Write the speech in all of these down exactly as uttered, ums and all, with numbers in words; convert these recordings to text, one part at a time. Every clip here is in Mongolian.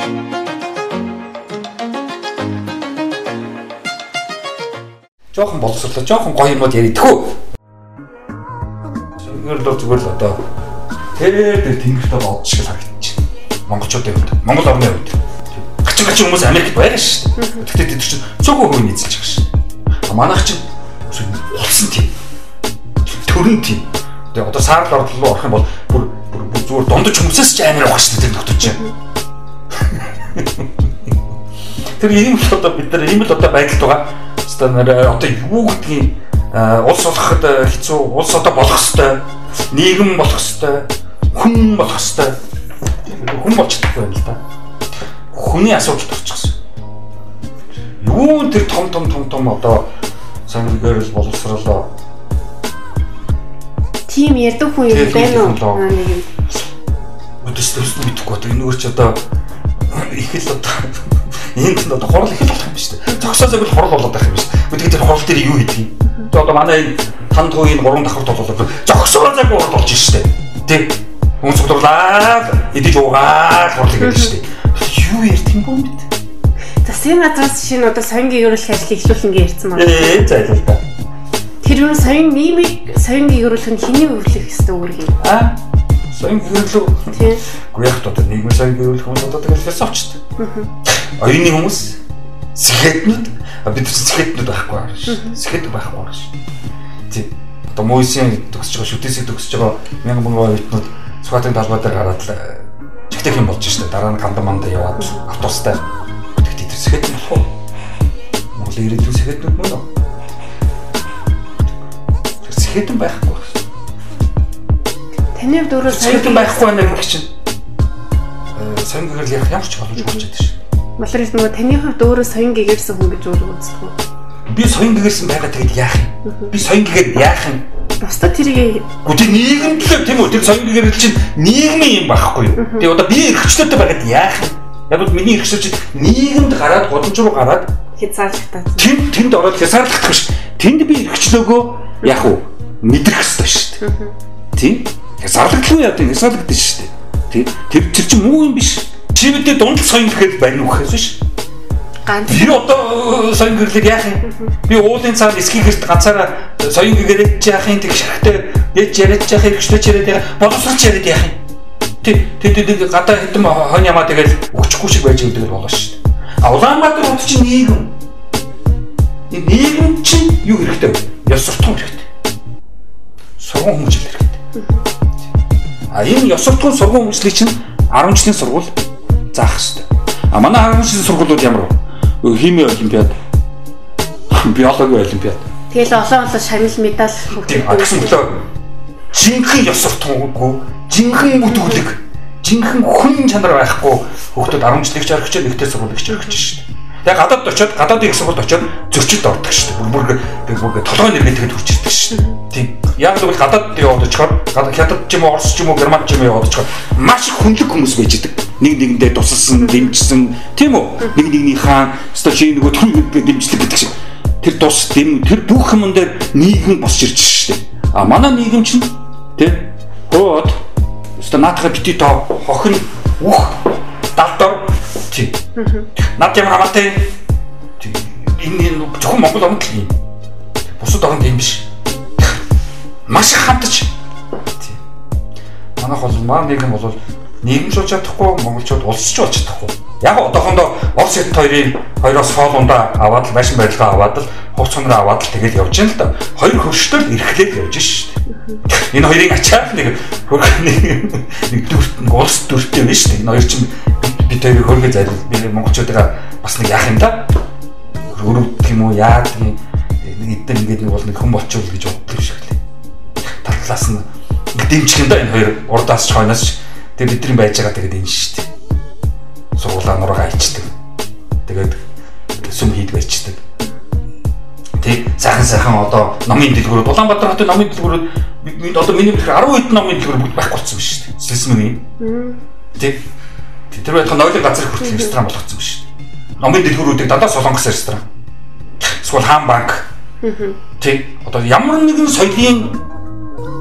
Жохон боловсруулаа, жохон гоё юмуд яридгүү. Зүгээр л зүгээр л одоо тэр тэр тэнгэртэй бод шиг харагдчих. Монголчуудын хувьд, Монгол орны хувьд. Гачин гачин хүмүүс Америкт байгаа шүү дээ. Тэгтээ тэд чинь цөөхөн хөө нийцэлж байгаа шүү. А манайх чинь улсан тийм. Төрөн тийм. Тэгээ одоо саарл орд руу орох юм бол бүр бүр зүгээр дундаж хүмүүсээс ч амар байгаа шүү дээ тэр нөхдөж чинь. Тэр ийм л одоо бид нар ийм л одоо байдалд байгаа. Одоо юу гэдгийг улс олоход хэцүү, улс одоо болох ёстой, нийгэм болох ёстой, хүн болох ёстой. Хүн болж чадахгүй байна л да. Хүний асуудал төрчихсөн. Юу тэр том том том том одоо сангийн л боловсруулаа. Тим ярддаг хүн юм байна уу? Өдөс төсөл мэдэхгүй одоо энэ өөр чи одоо их л одоо энд нь одоо хурал их л болох юм шүү дээ. Зогсоо зөвл хурал болоод байх юм шүү дээ. Гэхдээ тэр хурал дээр юу хийдэг юм? Тэгээ одоо манай танд хууийн гурван давхарт болоод зогсоо зөв хурал болж шүү дээ. Тэ? Хүн цогцорлаа, идэж уугаад хурал гэдэг шүү дээ. Юу ярьд юм бэ? Засгийн газраас шинэ одоо соён гэрүүлэх ажлыг эхлүүлэн гээ ярьсан байна. Ээ зайлал та. Тэр юу соён мимиг соён гэрүүлэх нь хэний өвлөх ёстой үүрэг юм? Аа? Соён гэрүүлэх. Тийм. Гэхдээ яг одоо нийгмийн соён гэрүүлэх хүмүүс одоо тэгэл философчд. Оюуны хүмүүс сэхэтнүүд бид сэхэтнүүд байхгүй аа ш. Сэхэтнүүд байхгүй аа ш. Тийм. Одоо мөйсийн төгсөж байгаа шүтээсийг төгсөж байгаа мянган мөнгө оюутнууд Сүхбаатарын талбай дээр гараад л жигтэй юм болж штэ. Дараа нь ганда манда яваад автобустай. Тэгтээ тэр сэхэтнүүд болох уу? Монголын ирээдүйн сэхэтнүүд мөн үү? Тэр сэхэтэн байхгүй. Таны хувьд өөрөө сэхэтэн байхгүй байна гэх чинь соён гэрэл ярих ямар ч боломж гарч ирж байна. Малрал нөгөө таны хувьд өөрөө соён гэгэрсэн хүн гэж өөрөө үздэг үү? Би соён гэгэрсэн байгаа тэгэд яах юм? Би соён гэгээд яах юм? Бусдад тэрийг гүтээ нийгэм төлөө тийм үү? Тэр соён гэгэрэл чинь нийгмийн юм байхгүй юу? Тэгээ одоо би эрхчлөөтэй байгаад яах юм? Яг бол миний эрхчлөө чинь нийгэмд гараад годомч руу гараад хязгаарлагдаад. Тэнд тэнд ороод хязгаарлагдах биш. Тэнд би эрхчлөөгөө яах вэ? Мэдрэх ёстой шүү дээ. Тийм? Хязгаарлагдахгүй яа тийм хязгаарлагдаж шүү дээ. Тэр тэр чинь муу юм биш. Чи мэдээ дунд соён гэхэд барин үхээс биш. Ганц. Би одоо соён гэрлийг яах юм? Би уулын цаад эскигэрт ганцаараа соён гэгэрэж яах юм? Тэг шахтай дэж яриад яах юм? Хөштэй яриад яах юм? Боловсролч яриад яах юм? Тэг тэг тэг гадаа хэдэм хон ямаа тэгэл өгчихгүй шиг байж өгдөг болно шүү дээ. А Улаанбаатар хот чинь нийгэм. Энэ нийгэм чинь юу хэрэгтэй вэ? Ёс суртахуун хэрэгтэй. Сургууль хүмүүжил хэрэгтэй. А энэ ёс суртахуун сургууль хүмүүжлийг чинь арван жилийн сургууль заах хэрэгтэй. А манай арван жилийн сургуулиуд ямар вэ? Хими олимпиад, биологи олимпиад. Тэгэл олон олон шагнал медаль өгдөг. Гэсэн мөлөө жинхэнэ ёс суртахуунгүй, жинхэнэ бүдүүлэг, жинхэнэ хүн чанар байхгүй хүүхдүүд арван жилийн ч орчих, нэгтэй сургуулийг ч орчих шүү дээ. Тэгээ гадаад очиод, гадаадын их сургуульд очиод зөрчилд ордог шүү дээ. Бүр бүр бүр толгойн нэргээд хурж ирдэг шүү дээ. Тийм. Яг л гадаад яваад очихоор, гадаад хятад ч юм уу, орос ч юм уу, герман ч юм уу яваад очихоор маш их хүнлэг хүмүүс байж идэг. Нэг нэгэндээ тусалсан, дэмжсэн, тийм үү? Нэг нэгний хаан, өстой чи нөгөө түрүү дэмжлэг гэдэг шиг. Тэр тус дэм, тэр бүх юм дээр нийгэм босч ирж шүү дээ. А манай нийгэм чинь тийм хоод өстой наатахаа бити тоо хохин ух далдор тийм. Наад юм хамаатай энэ зөвхөн Монгол орнд л юм. Бусад орнд юм биш. Маш их хамтаж. Тийм. Манайх бол маань нийгэм бол нийгэмшүүлж чадахгүй, монголчууд улсч болж чадахгүй. Яг одоохондоо Орос хят хоёрын хоёроос хоолундаа аваад л машин барилгаа аваад л хувц хонроо аваад л тэгэл явж байна л да. Хоёр хөрштөл эрхлээд явж шүү дээ. Энэ хоёрын ачаал нэг нэг дүрт улс дүртэй байна шүү дээ. Энэ хоёр чинь бид хоёрыг хөргөө зайлуул. Би монголчуудаа бас нэг яах юм да. Өрөвдөх юм уу яад нэг эдгээр ингээд нэг бол нэг хэн болчихвол гэж боддог шиг лээ. Таллаас нь дэмжих юм да энэ хоёр урдаас ч хойноос ч. Тэгээ бидний байж байгаа тэгээд энэ шүү дээ. Сургуулаа нургаа ичдэг. Тэгээд сүм хийдэг ичдэг. Тэг сайхан сайхан одоо номын дэлгүүрүүд Улаанбаатар хотын номын дэлгүүрүүд одоо миний хэлэхээр арван хэд номын дэлгүүр бүгд байхгүй болсон байна шүү дээ. Сэсмэний. Тэг тэр байтхан нойлын газар хүртэл ресторан болгоцсон байна шүү дээ. Номын дэлгүүрүүдийг дандаа Солонгос ресторан. Эсвэл хаан банк. Тэг одоо ямар нэгэн соёлын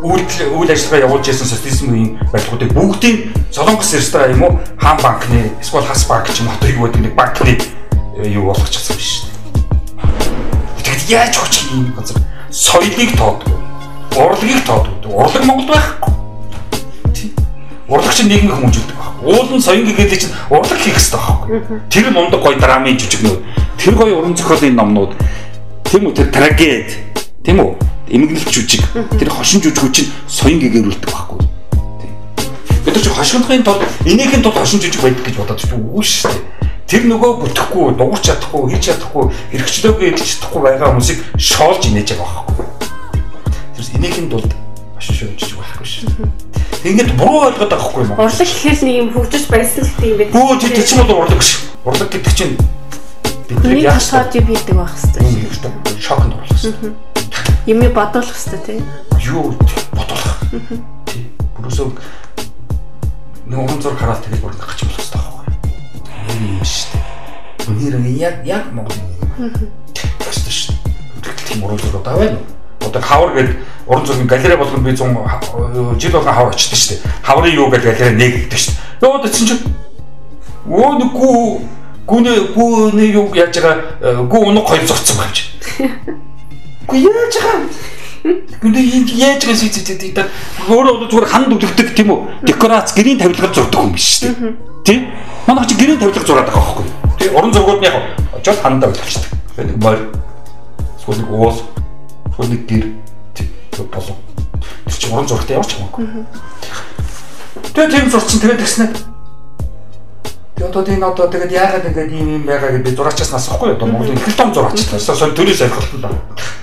үйлдэл үйл ажиллагаа явуулж байсан социализмын барилгуудыг бүгдийг Солонгос ресторан юм уу хаан банкны эсвэл хас банк ч юм уу юу гэдэг нэг банкны юу болгочихсон биш шүү дээ. Тэгэд яаж хоч юм газар соёлыг тоодгүй, урлагийг тоодгүй. Урлаг Монголд байхгүй. Урлаг чинь нийгмийн хүмүүжүүлдэг баг. Уулын соён гэдэг чинь урлаг хийх хэрэгтэй байхгүй. Тэр мундаг гоё драмын жүжигнүүд, тэр гоё уран зохиолын номнууд, тийм үү тэр трагед, тийм үү эмгэнэлт жүжиг, тэр хошин жүжигүүд чинь соён гэгэрүүлдэг байхгүй. Бид ч хошигнохын тулд энийхэн тулд хошин жүжиг байдаг гэж бодоод ч үгүй шүү дээ. Тэр нөгөө бүтэхгүй, дуурч чадахгүй, хийж чадахгүй, эрхчлөөгүй эдэлж чадахгүй байгаа хүмүүсийг шоолж инээж байгаа байхгүй. Тэр энийхэн тулд хошин шоолж байхгүй шүү. Ингээд буруу ойлгоод байгаа хгүй юм уу? Урлаг гэхэл нэг юм хөгжиж баясгал гэдэг юм байна. Өө тэр чинь бол урлаг шүү. Урлаг гэдэг чинь бидний яахад юм хийдэг байх хэвээр. Шокнд оруулах хэвээр. Юмыг бодуулах хэвээр тийм. Юу бодуулах. Тийм. Бүрөөсөө нэг уран зураг хараад тэгэл бүр гачж болох хэвээр байхгүй. Тийм шүү дээ. Үнээр яг яг Монгол юм. Тэст шүү. Тийм уран зураг одоо байна уу? Одоо хавар гэдэг уран зургийн галерей болгоно би зүүн жил болгон хавар очдөг шүү дээ. Хаврын юу гэдэг галерей нээгддэг шүү дээ. Йоо дэ чинь өө нэг гүү гүнээ гүнээ юу яаж байгаа гүү унаг хоёр зогцсон байна чи. Гүү яаж байгаа гүнээ яаж байгаа сийцэд даа өөрөө зүгээр ханд үлддэг тийм үү? Декорац гэрийн тавилгаар зурдаг юм биш шүү дээ. Тийм? Манай чи гэрийн тавилгаар зураад байгаа байхгүй. Тийм уран зургууд нь яг очоод хандаа үлдчихдэг. Нэг морь эсвэл нэг уул эсвэл нэг гэр тийм болов. Тэр чи уран зурагтай явж хамаагүй. Тэгээ тийм зурчин тэгээд тэгснэ. Тэгээд одоо тийм одоо тэгээд яагаад ингэж ийм юм байгаа гэж би зураачаас насахгүй одоо Монголын их том зураачлаа. Эсвэл төрөөс ойлголттой байна.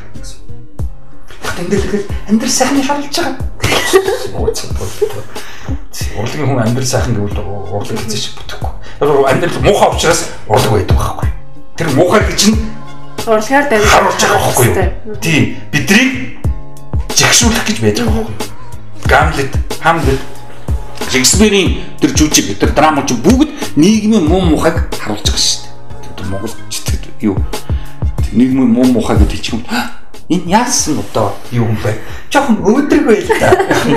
Тэндээ тэгээд амьдрал сайхны шалж байгаа. Урлагийн хүн амьдрал сайхан гэвэл урлаг хийж шиг бүтэхгүй. Амьдрал муухай учраас урлаг байдаг байхгүй. Тэр муухай гэж нь урлагаар дамжиж харуулж байгаа байхгүй юу? Тийм. Бидрийг жигшүүлэх гэж байдаг байхгүй юу? Гамлет, Хамлет, Шекспирийн тэр жүжиг, тэр драма ч бүгд нийгмийн муу мухайг харуулж байгаа шүү дээ. Тэр Монгол читгэд юу? Нийгмийн муу мухай гэдэг чинь энэ яасан одоо юу юм бэ? Жохон өөдрөг байл та.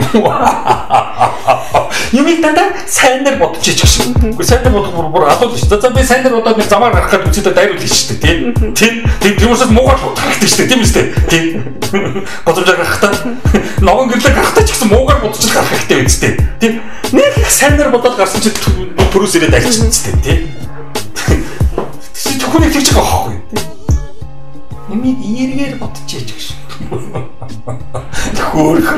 Юмыг дандаа сайнаар бодож ич гэсэн. Гэхдээ сайнаар бодох бүр бүр алуул шүү. За би сайнаар бодоод нэг замаар гарах гэдэг үстэй дайруулж шүү дээ. Тийм. Тийм. Тийм учраас муугаар бодох хэрэгтэй шүү дээ. Тийм үстэй. Тийм. Годомжаар гарахтаа ногоон гэрлэг гарахтаа ч гэсэн муугаар бодож гарах хэрэгтэй үстэй. Тийм. Нэг сайнаар бодоод гарсан чи төрөөс ирээд альчихсан үстэй. Тийм. Чи түүнийг тэгж байгаа байхгүй юу? Ямиг ийргээр бодчихъя гэж. Хөөрхөн.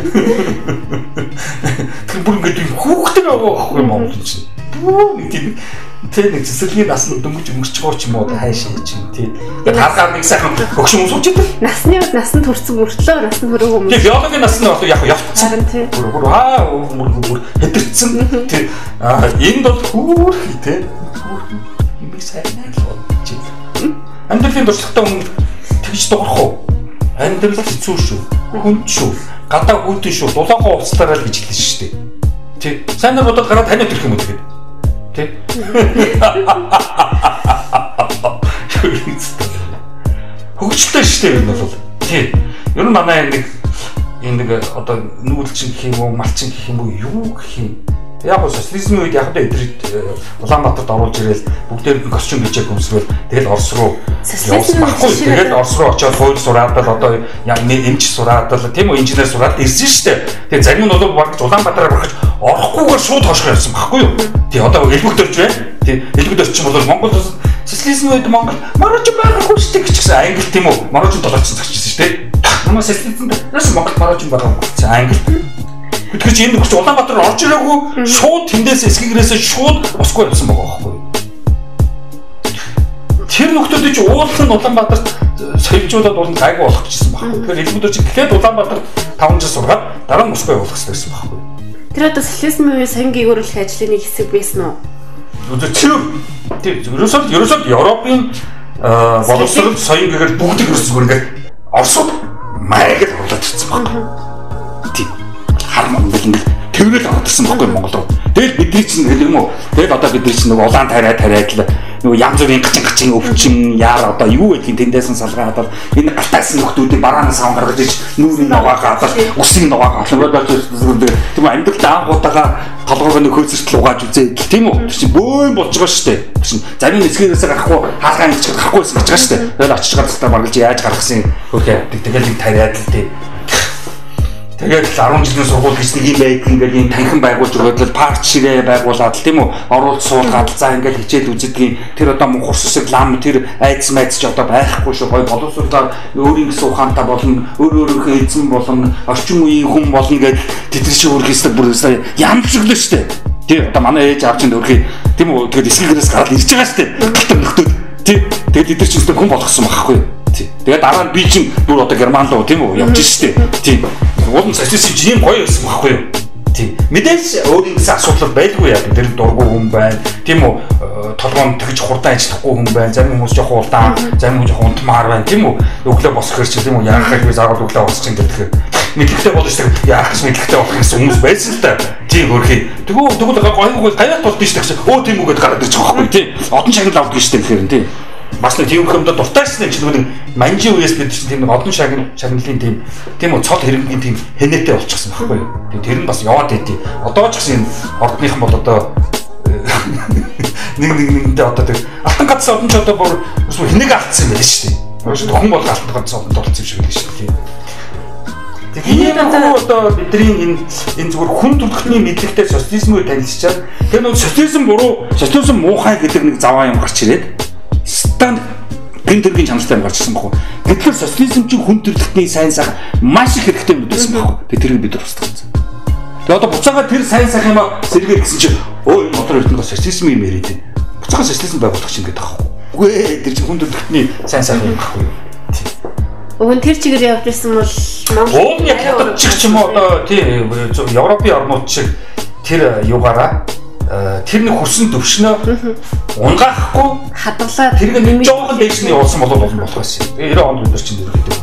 Тэр бүр ингэ хүүхдээ байгаа байхгүй юм Монгол чинь. Тийм. Тэр нэг цэцэрлэгийн насны дөнгөж өнгөрч ч юм уу хайшаа чинь тийм. Харгаар нэг сайхан хөгшин өмсөж идэв. Насны насанд төрсөн мөртлөө насанд хүрээгүй юм. Тийм биологийн насны бол яг явцсан. Бүр бүр аа бүр хэтэрсэн. Тийм. Аа энд бол хөөрхий тийм. Хөөрхий юм сайнаа л бодчих. Амьдралын туршлагатай хүн тэгж дуурах уу? Амьдрал хэцүү шүү. Хүн шүү. Гадаа гүйтэн шүү. Дулаангаа уцтараа л гэж хэлсэн шүү дээ. Тий. Сайнаар бодоод гараад таниад ирэх юм уу тэгээд? Тий. Хөгжөлтэй шүү дээ энэ бол. Тий. Ер нь манай нэг энэ нэг одоо нүүлчин гэх юм уу, малчин гэх юм уу, юу гэх юм. Яг гоо социализмын үед яг одоо эдрийг Улаанбаатарт оруулж ирээл бүгдээр нь костюм бичээг өмсрөл тэгэл Орос руу явсан байхгүй. Тэгээд Орос руу очиод хууль сураад л одоо эмч сураад л тийм үү инженер сураад ирсэн шүү дээ. Тэгээд зарим нь бол баг Улаанбаатараар орохж орохгүйгээр шууд хошгоо явсан байхгүй юу? Тий одоо элбэг төрж байна. Тий элбэг төрч юм бол Монгол социализмын үед Монгол маргач байхгүй шүү дээ гэсэн англи тийм үү? Маргач долоочсон зогсчихсон шүү дээ. Манай социализмд нас Монгол маргач байхгүй гэсэн англи. Тэгэхээр чи энэ нөхөж Улаанбаатар орж ирээгүй шууд тэндээс эсгэгрээсээ шууд Москва явсан байгаа байхгүй юу? Тэр нөхдүүд чи уулын Улаанбаатарт соёлжуулаад уулын гайгүй болох гэсэн байхгүй юу? Тэгэхээр элбэг чи гэхэд Улаанбаатар таван жил сургаад дараа нь Москва явуулах хэрэгтэй гэсэн байхгүй юу? Тэр одоо социализмын үеийн соён гэгэрүүлэх ажлын нэг хэсэг байсан уу? Тэр тэр ерөөсөө ерөөсөө Европын боловсрол соён гэгээр бүгд ерөөсөө ингээд Оросууд маяг л оруулаад ирсэн байхгүй юу? Хар Монгол ингээд тэрнэл ордсон байхгүй Монгол руу. Тэгэл бидний чинь гэх юм уу. Тэгэл одоо бидний чинь нөгөө улаан тариа тариад л нөгөө янз бүрийн гачин гачин өвчин яар одоо юу гэдгийг тэндээс нь салгаад одоо энэ галтайс нөхдүүдийн бараанаас савн гаргаж иж нүүрийн нугаагаа одоо усын нугаагаа тийм амьдрал даангуудаа толгойг нөхөөсөртөл угааж үзээ тийм үү чи бөөн болж байгаа шүү дээ чи зарим нэсгээрээс гарахгүй хаалгаа нэгч гарахгүйсэн гэж байгаа шүү дээ тэгэл очиж гаргалтаа баргалж яаж гаргасан хөөе тэгэл нэг тариад л тийм тэгээд арван жилийн сургууль гэж нэг юм байг ингээд юм танхим байгуулж өгөөд л парк ширээ байгуулад тийм үү оруулж суулгаад за ингээд хичээл үзэдгийн тэр одоо мөнх урссаг лам тэр айдс майдс ч одоо байхгүй шүү гой боловсруулаад өөрийн гэсэн ухаантай болно өөр өөрийнхөө эзэн болно орчин үеийн хүн болно гэж тэтгэж өөрхийстэй бүр ямшиглаа шүү дээ тийм одоо манай ээж аав чинь өөрхий тийм үү тэгээд эсгэгээрээс гараад ирж байгаа шүү дээ галтар нөхдөө тийм тэгээд эдгээр чинь хүн болгосон байхгүй тэгээд дараа нь би чинь бүр одоо герман руу тийм үү явж штэ тийм уулын социализм чинь юм гоё байсан байхгүй юу тийм мэдээж өөрийн гэсэн асуудал байлгүй яа тэр дургу хүн байна тийм үү толгоон тэгж хурдан ажиллахгүй хүн байна зарим хүмүүс жоохон улдаан зарим хүмүүс жоохон унтмаар байна тийм үү өглөө босох хэрэг тийм үү яахаа би заавал өглөө босч ин гэдэг мэдлэгтэй болж штэ яах гэж мэдлэгтэй болох гэсэн хүмүүс байсан л та тийм хөрхий тэгвэл тэгвэл гоё гоё гаяат бол биш гэсэн өө тийм үгээд гараад ирж байгаа байхгүй тийм одон шагнал авдаг штэ гэхээр тийм бас нэг тийм хүмүүс дуртайсан юм чинь нэг манжи үеэс бид чинь тийм нэг одон шагнал шагналын тийм тийм үү цол хэрэнгийн тийм хэнэтэй болчихсон байхгүй юу. Тэгээ тэр нь бас яваад байдیں۔ Одоо ч гэсэн ордныхан бол одоо нэг нэг нэгтэй одоо тэр алтан ганцсан одон ч одоо бүр хэнэг алдсан юм байна шүү дээ. Хүн бол алтан ганцсан одон толцсон юм шиг байна шүү дээ. Тэгээ энэ одоо бидний энэ энэ зүгээр хүн төрөлхтний мэдлэгтэй социализмыг танилцчаад тэр нэг социализм буруу социализм муухай гэдэг нэг заваа юм гарч ирээд стан гэн төргийн чанартай гарч ирсэн баг. Тэгэхээр социализм чинь хүн төрөлхтний сайн сайхан маш их хэрэгтэй мэдсэн баг. Тэгээ тэрийг бид нар устгацсан. Тэгээ одоо буцаага тэр сайн сайхан юм сэргээ гэсэн чинь өө энэ мотор эрдэнэ социализм юм яриад байна. Буцаага социализм байгуулах чинь гэдэг аахгүй. Үгүй ээ тэр чинь хүн төрөлхтний сайн сайхан юм байхгүй юу? Өвн тэр чигээр явж ирсэн бол Монгол яг хятад чиг ч юм уу одоо тийм Европын орнууд шиг тэр юугаараа тэр нэг хөрсөн төвшнөө унгаахгүй хадгалаад тэр нэг жоохон дээш нь явуулсан болов болно болох байсан. Тэгээ девяносто онд бид нар чинь ерөөхдөө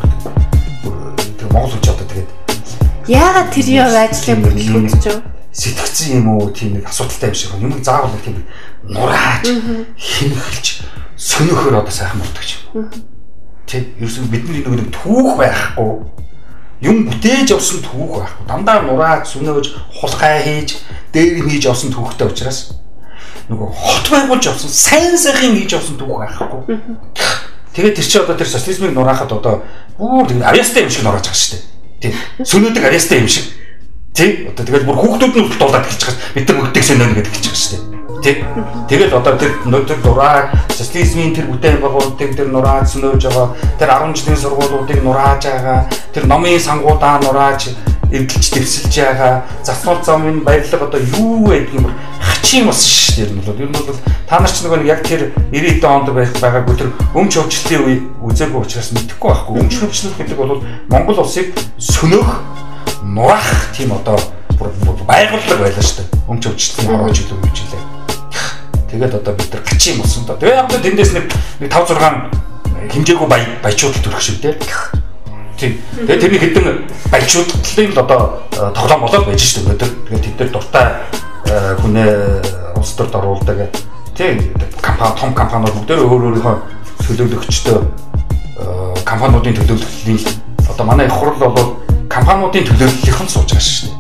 тэр Монгол хүч одоо тэгээд яагаад тэр яв ажлын бүтлгүүд ч сэтгцэн юм уу тийм нэг асуудалтай юм шиг юм заавал нэг тийм нурааж хинхэлж сөнөхөр одоо сайхан болдог юм. Тэг ерөөсөн бидний нэг түүх байхгүй юм бүтээж явсан түүх байхгүй дандаа нурааж сүнөөж хулгай хийж дээр хийж явсан түүхтэй учраас нөгөө хот байгуулж явсан сайн сайхан хийж явсан түүх байхгүй. Тэгээд тэр чи одоо тэр социализмыг нураахад одоо бүр авьяастай юм шиг нурааж байгаа шүү дээ. Тийм. Сүнөөдөг авьяастай юм шиг. Тийм. Одоо тэгээд бүр хүүхдүүд нь дуулаад эхэлж байгаа. Бид нар мөгдөг сэнэн гэдэг хэлж байгаа шүү дээ. Тийм. Тэгээд одоо тэр тэр нураа социализмын тэр бүтээн байгуулалтыг тэр нурааж сүнөөж байгаа. Тэр арван жилийн сургуулиудыг нурааж байгаа. Тэр номын сангуудаа нурааж эвдэлж дэвсэлж байгаа. Засвар замын баярлаг одоо юу гэдэг юм бэ? Хачин бас шүү дээ. Энэ бол ер нь бол та нар ч нөгөө яг тэр девяносто онд байгаагүй тэр өмч хөвчлөлийн үе үзээгүй учраас мэдэхгүй байхгүй. Өмч хөвчлөл гэдэг бол Монгол улсыг сөнөөх нураах тийм одоо байгууллага байлаа шүү дээ. Өмч хөвчлөлийн орооч илүү гэж хэлээ. Тэгээд одоо бид нар хачин болсон доо. Тэгээ яг л тэндээс нэг тавь зургаан хэмжээгүй бай баячууд төрөх шиг дээ. Тийм. Тэгээ тэрний хэдэн баячуудлын л одоо тоглоом болоод байж шүү дээ. Тэгээд тэд нар дуртай хүнээ улс төрд оруулдаг. Тийм. Компани том компаниуд бүгдээ өөр өөрийнхөө төлөөлөгчтэй компаниудын төлөөллийн одоо манай их хурл бол компаниудын төлөөллийнхэн сууж байгаа шүү дээ.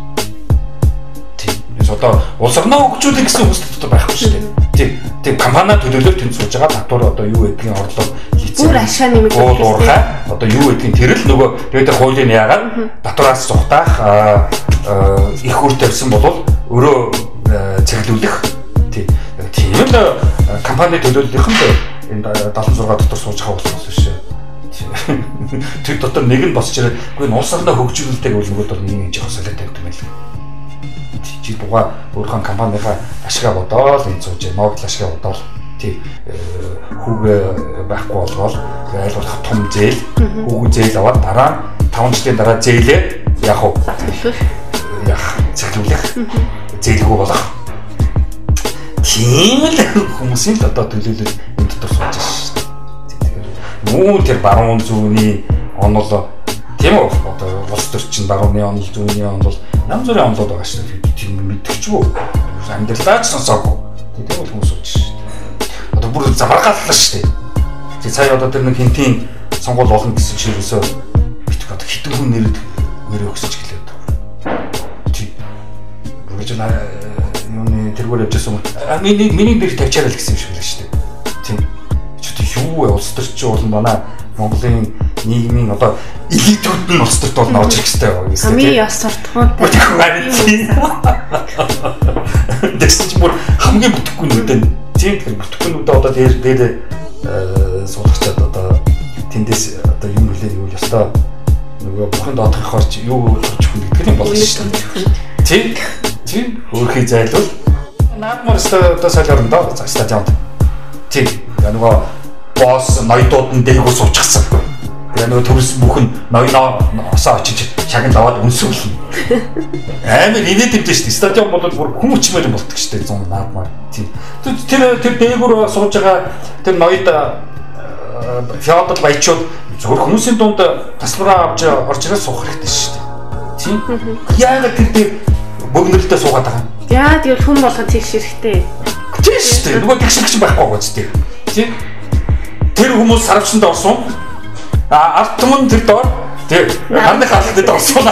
Тийм.Ээс одоо улс орноо хөгжүүлэх гэсэн хүсэл дотор байхгүй шүү дээ. Тийм. Тийм компани төлөөлөл тэнд сууж байгаа татвар одоо юу гэдгийг орлого хийцэн. Бүр ашаа нэмэх уурхай одоо юу гэдгийг тэр л нөгөө тэгээд хуулийн яагаад татвараас зугатаах их үр тавьсан бол өөрөө цэглүүлэх тийм тийм л компани төлөөллийнхэн энэ седемдесет и шесть дотор сууж байгаа болсон шүү. Тэр дотор нэг нь босч ирээд үгүй нь улс орноо хөгжүүлэлтэйг бол нөгөө дор нэг жоохон солиотой юм байна. Чи дугаа өөрхөн компанийнхаа ашгаа бодоол энэ сууж Нобель ашгаа бодоол тий хүүгээ байхгүй болгоол айлгуулах том зээл хүүгээ зээл аваад дараа таван жилийн дараа зээлээ яг уу яг цэглүүлэх зээлгүй болох тийм л хүмүүсийн л одоо төлөөлөл энэ дотор сууж байгаа шүү дээ. Мөн тэр баруун зүүнний онол тийм үү одоо улс төрчин барууны онол зүүнний онол Ям зүрийн онлоод байгаа шүү дээ. Тийм мэдчихвүү. Амьдралаач сонсоогүй. Тийм бол хүмүүс ууч шүү дээ. Одоо бүр замаргааллаа шүү дээ. Тэгээ цаа одоо тэр нэг хинтийн сонгуул олон гэсэн чирээсөө битг одоо хитэн хүн нэрэд нэрээ өгсөж гэлээд. Тийм. Бүгд наа юуны тэргээр явжсэн юм. А миний миний дээр тавьчаарай л гэсэн юм шиг л шүү дээ. Тийм. Чи юу вэ? Улс төрч болон манай Монголын нийгмийн одоо элитүүд нь улс төрт болно орж ирэх хэрэгтэй байна. Хамгийн яс суртахуунтай. Дэсч бүр хамгийн бүтэхгүй нүдэн. Тийм тэр бүтэхгүй нүдэ одоо дээр дээр суулгачаад одоо тэндээс одоо юм хэлээ юу л ёстой. Нөгөө бүхэн доодох хорч юу төрж хүн гэдэг юм болно шүү дээ. Тийм. Тийм. Өөрхий зайлвал наадмаар одоо солиорн доо стадионд. Тийм. Нөгөө босс ноёдууд нь дээгүүр суучихсан. Тэгээ нөгөө төрс бүхэн ноёноо очиж шагнал аваад өнсөөлнө. Амар инээд юм дээ шүү дээ. Стадион бол бүр хүн өчмөр юм болдог шүү дээ. зүүн наадмаар. Тийм. Тэр тэр дээгүүр сууж байгаа тэр ноёд феодал баячууд зөвхөн хүмүүсийн дунд тасалбараа авч орж ирээ суух хэрэгтэй шүү дээ. Тийм. Яагаад тэр дээр бөгнөлтөө суугаад байгаа юм? Яа тэгэл хүн болгон тэгш хэрэгтэй. Тийм шүү дээ. Нөгөө тэгшилч байхгүй гоц тийм. Тийм. Тэр хүмүүс сарвчанд орсон. А ард түмэн тэр доор тэр ханны хаалтад орсон.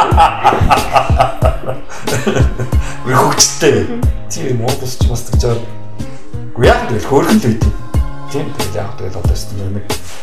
Би хөгжтэй. Тийм модус ч бас гэж байгаа. Гү яах вэ? Хөөрхөн л үйд. Тийм тэгэл яах вэ? Одоо ч нэг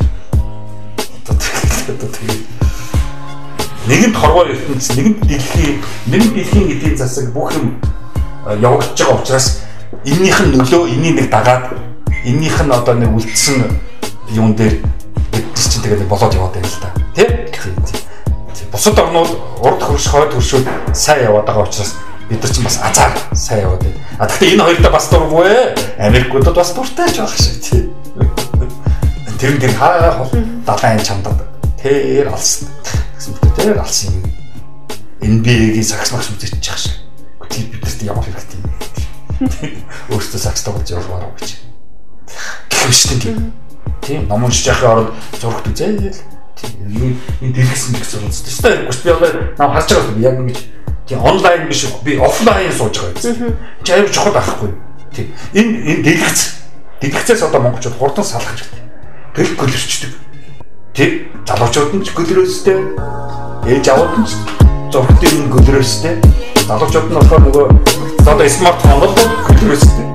одоо тэгээд нэгэнд хорвоо ертөнц, нэгэнд дэлхий, нэгэнд дэлхийн эдийн засаг бүх юм явагдаж байгаа учраас эннийх нь нөлөө, энэний нэг дагаад, эннийх нь одоо нэг үлдсэн юун дээр бид чинь тэгээд болоод яваад байна л да. Тийм? Тийм. Бусад орнууд урд хөрш, хойд хөршүүд сайн яваад байгаа учраас бид нар чинь бас азар сайн яваад байна. А тэгэхээр энэ хоёртаа бас дургүй ээ. Америкуудад бас дуртай ч байх шиг тийм. Тэр тэр хаа хол далайн чамдад тэр алсан. Гэсэн мэт тэр алсан юм. эн би эй-гийн сакс багш үзэж чих шиг. Тэр бидэрт ямар хэрэгтэй юм. Өөртөө сакс тоглож явуулмаар уу гэж. Гэвчтэй тийм. Тийм ном уншиж яхахын оронд зурагт үзээл. Тийм энэ дэлгэсэн гэсэн юм зү. Тэстэй хэрэггүй. Би одоо наа харж байгаа яг ингэж тийм онлайн биш би офлайн сууж байгаа юм. Чи аюул чухал байхгүй. Тийм энэ энэ дэлгэц. Дэлгэцээс одоо монголчууд хурдан салах хэрэгтэй. Тэр гөлөрчдөг. Тэр залуучууд нь ч гөлрөөстэй. Ээж аваад нь ч зургт юм гөлрөөстэй. Залуучууд нь болохоор нөгөө одоо смартфон бол гөлрөөстэй.